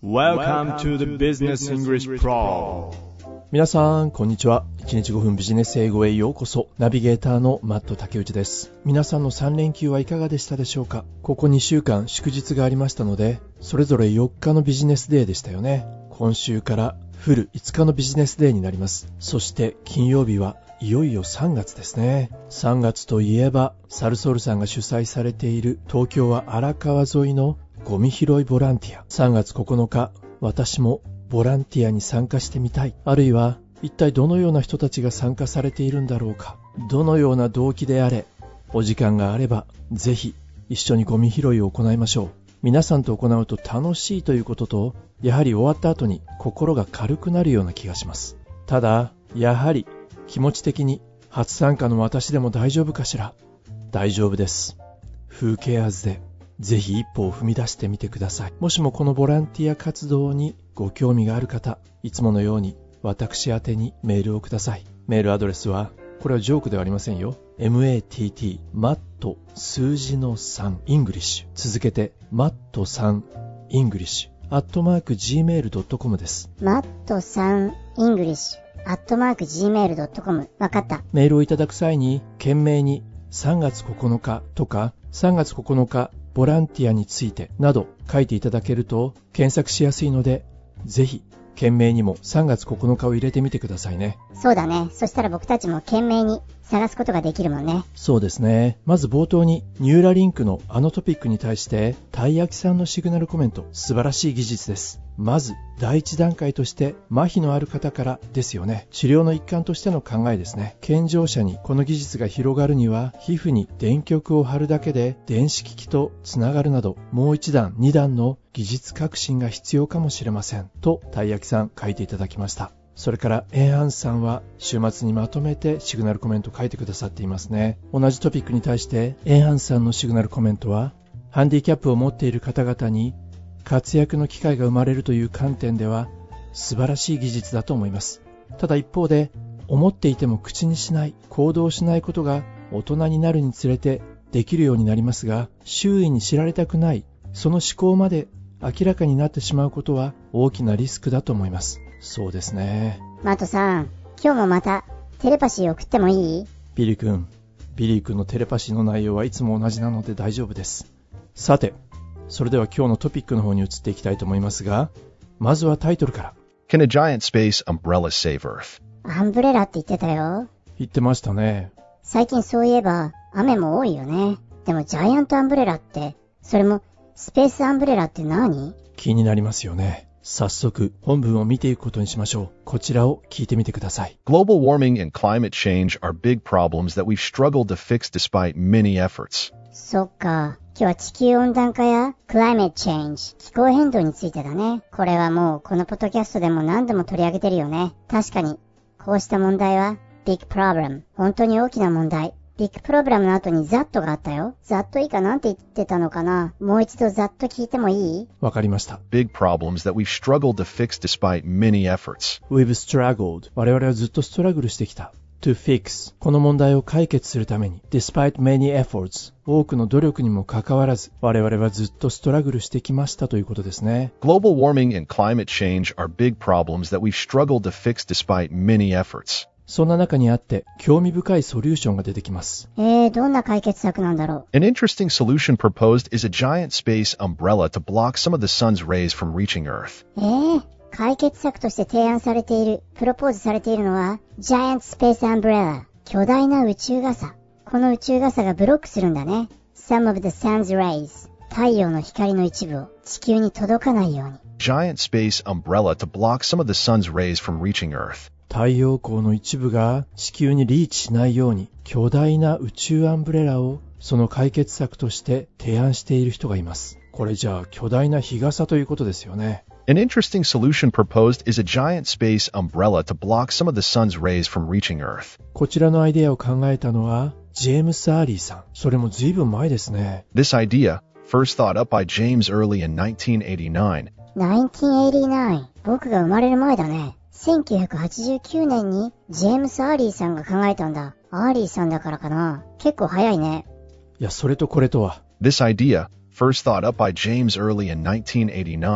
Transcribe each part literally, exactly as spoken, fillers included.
Welcome to the Business English Pro。 皆さんこんにちは。いちにちごふんビジネス英語へようこそ。ナビゲーターのマット竹内です。皆さんのさん連休はいかがでしたでしょうか。ここにしゅうかん祝日がありましたので、それぞれよっかのビジネスデーでしたよね。今週からフルいつかのビジネスデーになります。そして金曜日はいよいよさんがつですね。さんがつといえばサルソールさんが主催されている東京は荒川沿いのゴミ拾いボランティア。さんがつここのか、私もボランティアに参加してみたい。あるいは一体どのような人たちが参加されているんだろうか。どのような動機であれ、お時間があればぜひ一緒にゴミ拾いを行いましょう。皆さんと行うと楽しいということと、やはり終わった後に心が軽くなるような気がします。ただやはり気持ち的に初参加の私でも大丈夫かしら。大丈夫です。Who caresでぜひ一歩を踏み出してみてください。もしもこのボランティア活動にご興味がある方、いつものように私宛てにメールをください。メールアドレスは、これはジョークではありませんよ。マット 数字のさん イングリッシュ、続けてマットさん イングリッシュアットマーク ジーメールドットコム です。 マットさん イングリッシュアットマーク ジーメールドットコム。 わかった。 メールをいただく際に懸命にさんがつここのかとかさんがつここのかボランティアについてなど書いていただけると検索しやすいので、ぜひ懸命にもさんがつここのかを入れてみてくださいね。 そうだね。そしたら僕たちも懸命に探すことができるもんね。 そうですね。まず冒頭にニューラリンクのあのトピックに対してたい焼きさんのシグナルコメント、素晴らしい技術です。まず第一段階として麻痺のある方からですよね。治療の一環としての考えですね。健常者にこの技術が広がるには、皮膚に電極を貼るだけで電子機器とつながるなど、もう一段二段の技術革新が必要かもしれませんとたい焼きさん書いていただきました。それからエンハンさんは週末にまとめてシグナルコメント書いてくださっていますね。同じトピックに対してエンハンさんのシグナルコメントは、ハンディキャップを持っている方々に活躍の機会が生まれるという観点では素晴らしい技術だと思います。ただ一方で、思っていても口にしない、行動しないことが大人になるにつれてできるようになりますが、周囲に知られたくない、その思考まで明らかになってしまうことは大きなリスクだと思います。そうですね。 マットさん、今日もまたテレパシー送ってもいい？ ビリー君、ビリー君のテレパシーの内容はいつも同じなので大丈夫です。さて、それでは今日のトピックの方に移っていきたいと思いますが、まずはタイトルから。 Can a giant space umbrella save Earth? アンブレラって言ってたよ。 言ってましたね。 最近そういえば雨も多いよね。でもジャイアントアンブレラって、それもスペースアンブレラって何？ 気になりますよね。早速本文を見ていくことにしましょう。こちらを聞いてみてください。 Global warming and climate change are big problems that we've struggled to fix despite many efforts. そっか。今日は地球温暖化やクライメットチェンジ、気候変動についてだね。これはもうこのポッドキャストでも何度も取り上げてるよね。確かにこうした問題はビッグプロブレム、本当に大きな問題。ビッグプロブレムの後にザットがあったよ。ザット以下なんて言ってたのかな。もう一度ザット聞いてもいい？ わかりました。 Big problems that we've struggled to fix despite many efforts. We've struggled、 我々はずっとストラグルしてきた。To fix、 この問題を解決するために Despite many efforts、 多くの努力にもかかわらず我々はずっとストラグルしてきましたということですね。 Global warming and climate change are big problems that we've struggled to fix despite many efforts. そんな中にあって興味深いソリューションが出てきます。 えー、どんな解決策なんだろう。 An interesting solution proposed is a giant space umbrella to block some of the sun's rays from reaching Earth. えー解決策として提案されている、プロポーズされているのは、ジャイアントスペースアンブレラ、巨大な宇宙傘。この宇宙傘がブロックするんだね。Some of the sun's rays、太陽の光の一部を地球に届かないように。 Giant space umbrella to block some of the sun's rays from reaching Earth. 太陽光の一部が地球にリーチしないように、巨大な宇宙アンブレラをその解決策として提案している人がいます。これじゃあ巨大な日傘ということですよね。 An interesting solution proposed is a giant space umbrella to block some of the sun's rays from reaching Earth. こちらのアイデアを考えたのはジェームス・アーリーさん。それも随分前ですね。 This idea, first thought up by James Early in nineteen eighty-nine. nineteen eighty-nine、僕が生まれる前だね。せんきゅうひゃくはちじゅうきゅうねんにジェームス・アーリーさんが考えたんだ。アーリーさんだからかな。結構早いね。 いや、それとこれとは。 This idea, first thought up by James Early in nineteen eighty-nine,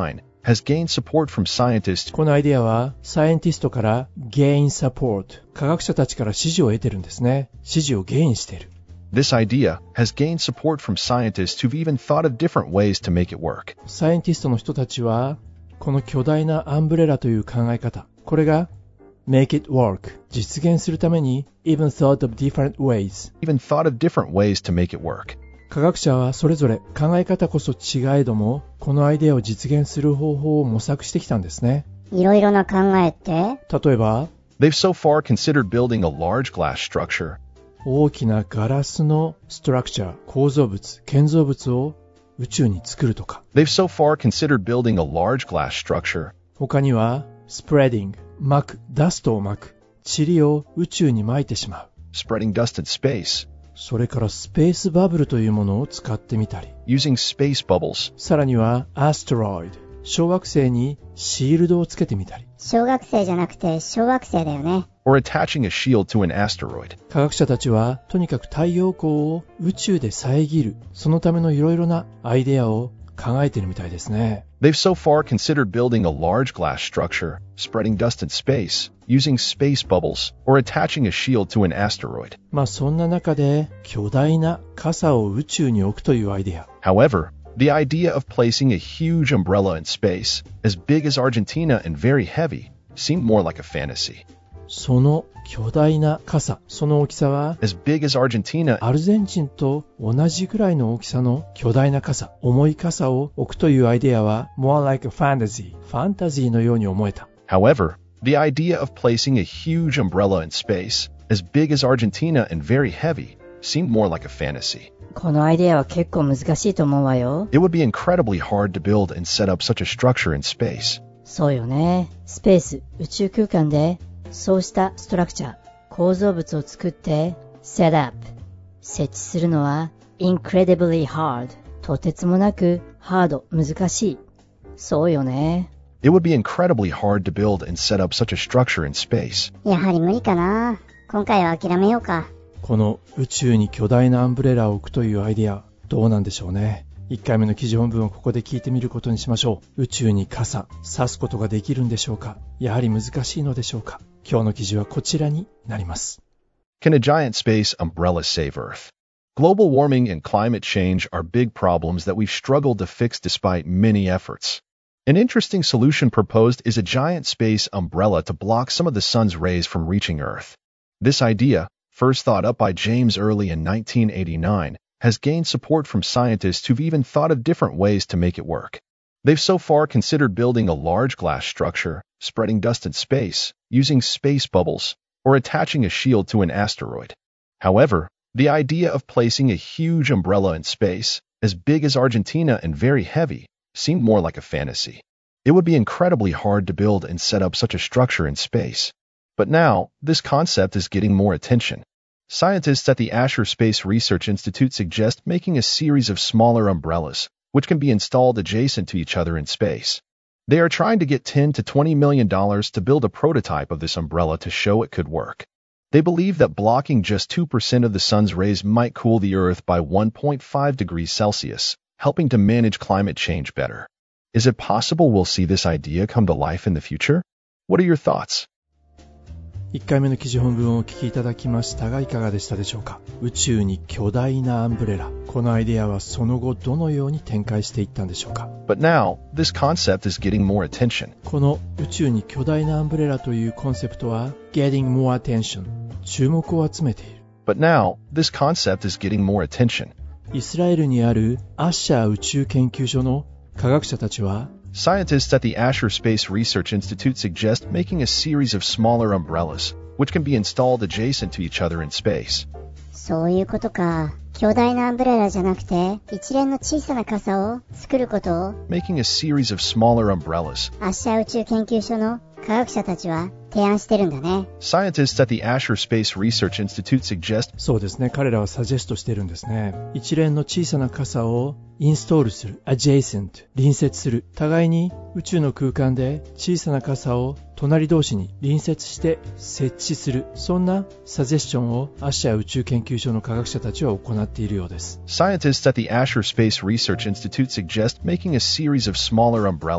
has gained support from scientists. このアイデアはサイエンティストから gain support、科学者たちから支持を得てるんですね。支持をゲインしている。 This idea has gained support from scientists who've even thought of different ways to make it work. サイエンティストの人たちはこの巨大なアンブレラという考え方、これが make it work、実現するために even thought of different ways、 Even thought of different ways to make it work. 科学者はそれぞれ考え方こそ違えども、このアイデアを実現する方法を模索してきたんですね。 いろいろな考えって？ 例えば、 They've so far considered building a large glass structure. 大きなガラスのストラクチャー、構造物、建造物を宇宙に作るとか。 They've so far considered building a large glass structure. 他には、spreading、撒く、ダストを撒く、塵を宇宙に撒いてしまう。 Spreading dust in space. それからスペースバブルというものを使ってみたり。 Using space bubbles. さらには、アステロイド、小惑星にシールドをつけてみたり。 小学生じゃなくて小惑星だよね。 Or attaching a shield to an asteroid. 科学者たちはとにかく太陽光を宇宙で遮る、そのためのいろいろなアイデアを考えているみたいですね。 They've so far considered building a large glass structure, spreading dust in space, using space bubbles, or attaching a shield to an asteroid. まあそんな中で巨大な傘を宇宙に置くというアイデア。 However, the idea of placing a huge umbrella in space, as big as Argentina and very heavy, seemed more like a fantasy. その巨大な傘、その大きさは As big as Argentina, アルゼンチンと同じくらいの大きさの巨大な傘、重い傘を置くというアイデアは more like a fantasy、ファンタジーのように思えた。 however, the idea of placing a huge umbrella in space, as big as Argentina and very heavy, seemed more like a fantasy. このアイデアは結構難しいと思うわよ。 It would be incredibly hard to build and set up such a structure in space. そうよね。スペース、宇宙空間でそうしたストラクチャー、構造物を作って set up、設置するのは incredibly hard、とてつもなくハード、難しい。そうよね。 It would be incredibly hard to build and set up such a structure in space. やはり無理かな。今回は諦めようか。 この宇宙に巨大なアンブレラを置くというアイデア、どうなんでしょうね。いっかいめの記事本文をここで聞いてみることにしましょう。宇宙に傘、差すことができるんでしょうか。やはり難しいのでしょうか。今日の記事はこちらになります。 Can a giant space umbrella save Earth? Global warming and climate change are big problems that we've struggled to fix despite many efforts. An interesting solution proposed is a giant space umbrella to block some of the sun's rays from reaching Earth. This idea, first thought up by James Early in nineteen eighty-nine, has gained support from scientists who've even thought of different ways to make it work. They've so far considered building a large glass structure, spreading dust in space, using space bubbles, or attaching a shield to an asteroid. However, the idea of placing a huge umbrella in space, as big as Argentina and very heavy, seemed more like a fantasy. It would be incredibly hard to build and set up such a structure in space. But now, this concept is getting more attention. Scientists at the Asher Space Research Institute suggest making a series of smaller umbrellas, which can be installed adjacent to each other in space. They are trying to get ten to twenty million dollars to build a prototype of this umbrella to show it could work. They believe that blocking just two percent of the sun's rays might cool the Earth by one point five degrees Celsius, helping to manage climate change better. Is it possible we'll see this idea come to life in the future? What are your thoughts? いっかいめの記事本文をお聞きいただきましたがいかがでしたでしょうか。宇宙に巨大なアンブレラ、このアイデアはその後どのように展開していったんでしょうか。 But now, this concept is getting more attention. この宇宙に巨大なアンブレラというコンセプトは getting more attention、 注目を集めている。 But now, this concept is getting more attention. イスラエルにあるアッシャー宇宙研究所の科学者たちは Scientists at the Asher Space Research Institute suggest making a series of smaller umbrellas, which can be installed adjacent to each other in space. そういうことか。巨大なアンブレラじゃなくて、一連の小さな傘を作ることを Making a series of smaller umbrellas. アッシャー宇宙研究所の科学者たちは提案してるんだね。 Scientists at the Asher Space Research Institute suggest そうですね、彼らはサジェストしてるんですね。一連の小さな傘をインストールする adjacent、 隣接する、互いに宇宙の空間で小さな傘を隣同士に隣接して設置する、そんなサジェスションをアッシャー宇宙研究所の科学者たちは行っているようです。 Scientists at the Asher Space Research Institute suggest making a series of smaller umbrellas,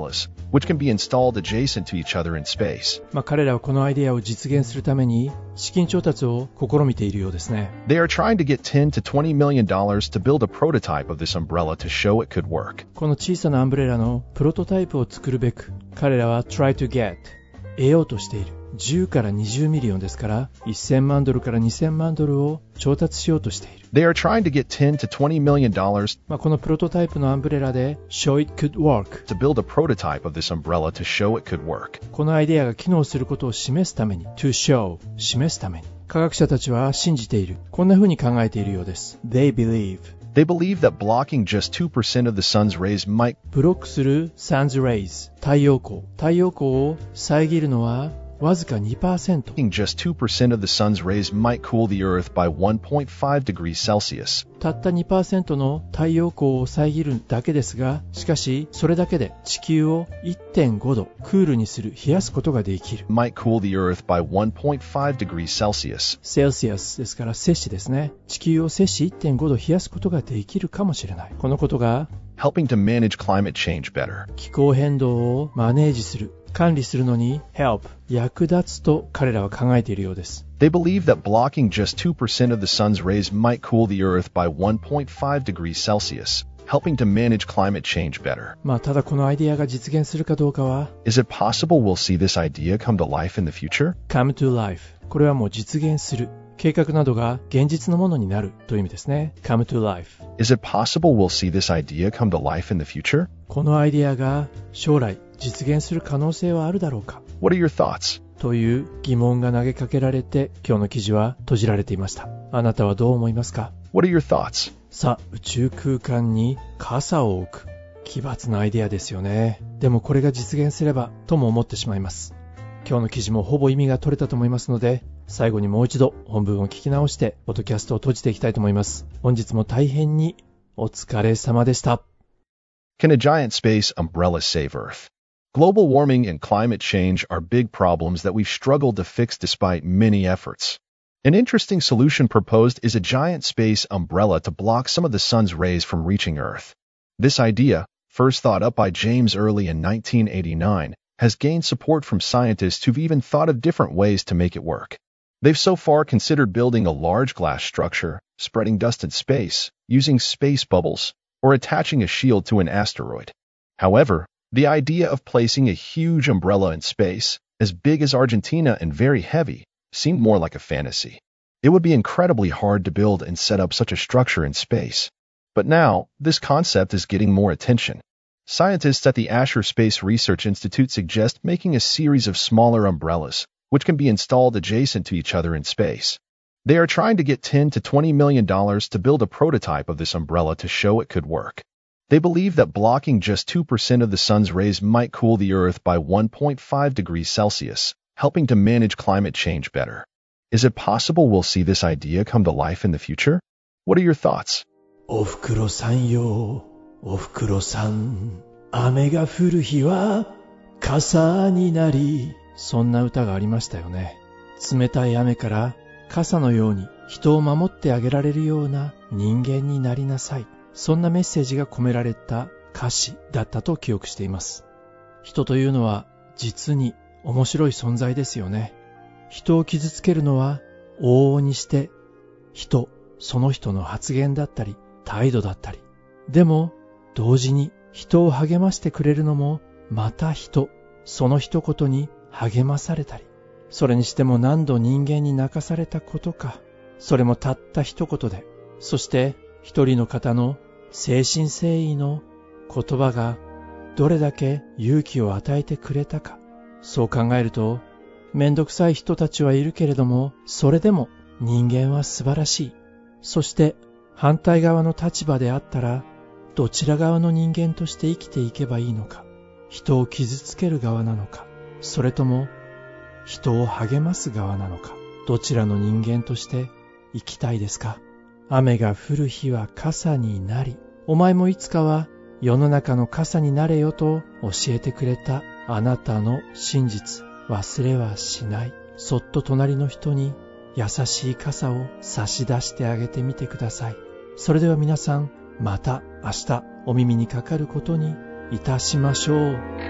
which can be installed adjacent to each other in space. まあ彼らはこのアイデアを実現するために資金調達を試みているようですね。 They are trying to get ten to twenty million dollars to build a prototype of this umbrella to show it could work. この小さなアンブレラのプロトタイプを作るべく、彼らは try to get 得ようとしている。じゅうからにじゅうミリオンですからせんまんドルからにせんまんドルを調達しようとしている。 They are trying to get ten to twenty million dollars まあこのプロトタイプのアンブレラで show it could work to build a prototype of this umbrella to show it could work. このアイデアが機能することを示すために to show 示すために科学者たちは信じている。こんな風に考えているようです。They believe They believe that blocking just two percent of the sun's rays might ブロックする sun's rays 太陽光太陽光を遮るのはわずか にパーセント just two percent of the sun's rays might cool the earth by one point five degrees Celsius. たった にパーセント の太陽光を遮るだけですが、しかしそれだけで地球を いってんご 度クールにする冷やすことができる。 Might cool the earth by one point five degrees Celsius. セルシアスですから摂氏ですね。地球を摂氏 いってんご 度冷やすことができるかもしれない。このことが helping to manage climate change better. 気候変動をマネージする管理するのに help 役立つと彼らは考えているようです。 They believe that blocking just two percent of the sun's rays might cool the earth by one point five degrees Celsius, helping to manage climate change better. まあただこのアイデアが実現するかどうかは Is it possible we'll see this idea come to life in the future? come to life これはもう実現する計画などが現実のものになるという意味ですね。come to life Is it possible we'll see this idea come to life in the future? このアイデアが将来実現する可能性はあるだろうか What are your thoughts? という疑問が投げかけられて今日の記事は閉じられていました。あなたはどう思いますか？ What are your thoughts? さあ、宇宙空間に傘を置く奇抜なアイデアですよね。でもこれが実現すればとも思ってしまいます。今日の記事もほぼ意味が取れたと思いますので、最後にもう一度本文を聞き直してポッドキャストを閉じていきたいと思います。本日も大変にお疲れ様でした。 Can a giant space umbrella save Earth? Global warming and climate change are big problems that we've struggled to fix despite many efforts. An interesting solution proposed is a giant space umbrella to block some of the sun's rays from reaching Earth. This idea, first thought up by James Early in nineteen eighty-nine, has gained support from scientists who've even thought of different ways to make it work. They've so far considered building a large glass structure, spreading dust in space, using space bubbles, or attaching a shield to an asteroid. However, the idea of placing a huge umbrella in space, as big as Argentina and very heavy, seemed more like a fantasy. It would be incredibly hard to build and set up such a structure in space. But now, this concept is getting more attention. Scientists at the Asher Space Research Institute suggest making a series of smaller umbrellas, which can be installed adjacent to each other in space. They are trying to get ten to twenty million dollars to build a prototype of this umbrella to show it could work. They believe that blocking just two percent of the sun's rays might cool the Earth by one point five degrees Celsius, helping to manage climate change better. Is it possible we'll see this idea come to life in the future? What are your thoughts? おふくろさんよ、おふくろさん、雨が降る日は傘になり。そんな歌がありましたよね。冷たい雨から傘のように人を守ってあげられるような人間になりなさい。そんなメッセージが込められた歌詞だったと記憶しています。人というのは実に面白い存在ですよね。人を傷つけるのは往々にして人、その人の発言だったり態度だったり。でも同時に人を励ましてくれるのもまた人、その一言に励まされたり。それにしても何度人間に泣かされたことか。それもたった一言で。そして一人の方の誠心誠意の言葉がどれだけ勇気を与えてくれたか。そう考えると、めんどくさい人たちはいるけれども、それでも人間は素晴らしい。そして反対側の立場であったら、どちら側の人間として生きていけばいいのか。人を傷つける側なのか、それとも人を励ます側なのか。どちらの人間として生きたいですか。雨が降る日は傘になり、お前もいつかは世の中の傘になれよと教えてくれたあなたの真実、忘れはしない。そっと隣の人に優しい傘を差し出してあげてみてください。それでは皆さん、また明日お耳にかかることにいたしましょう。